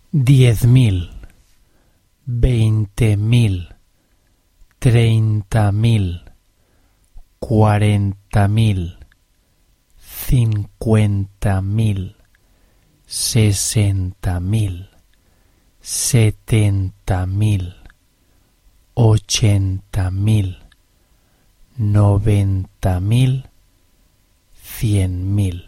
10.000, 20.000, 30.000, 40.000, 50.000, 60.000, 70.000, 80.000, 90.000, 100.000.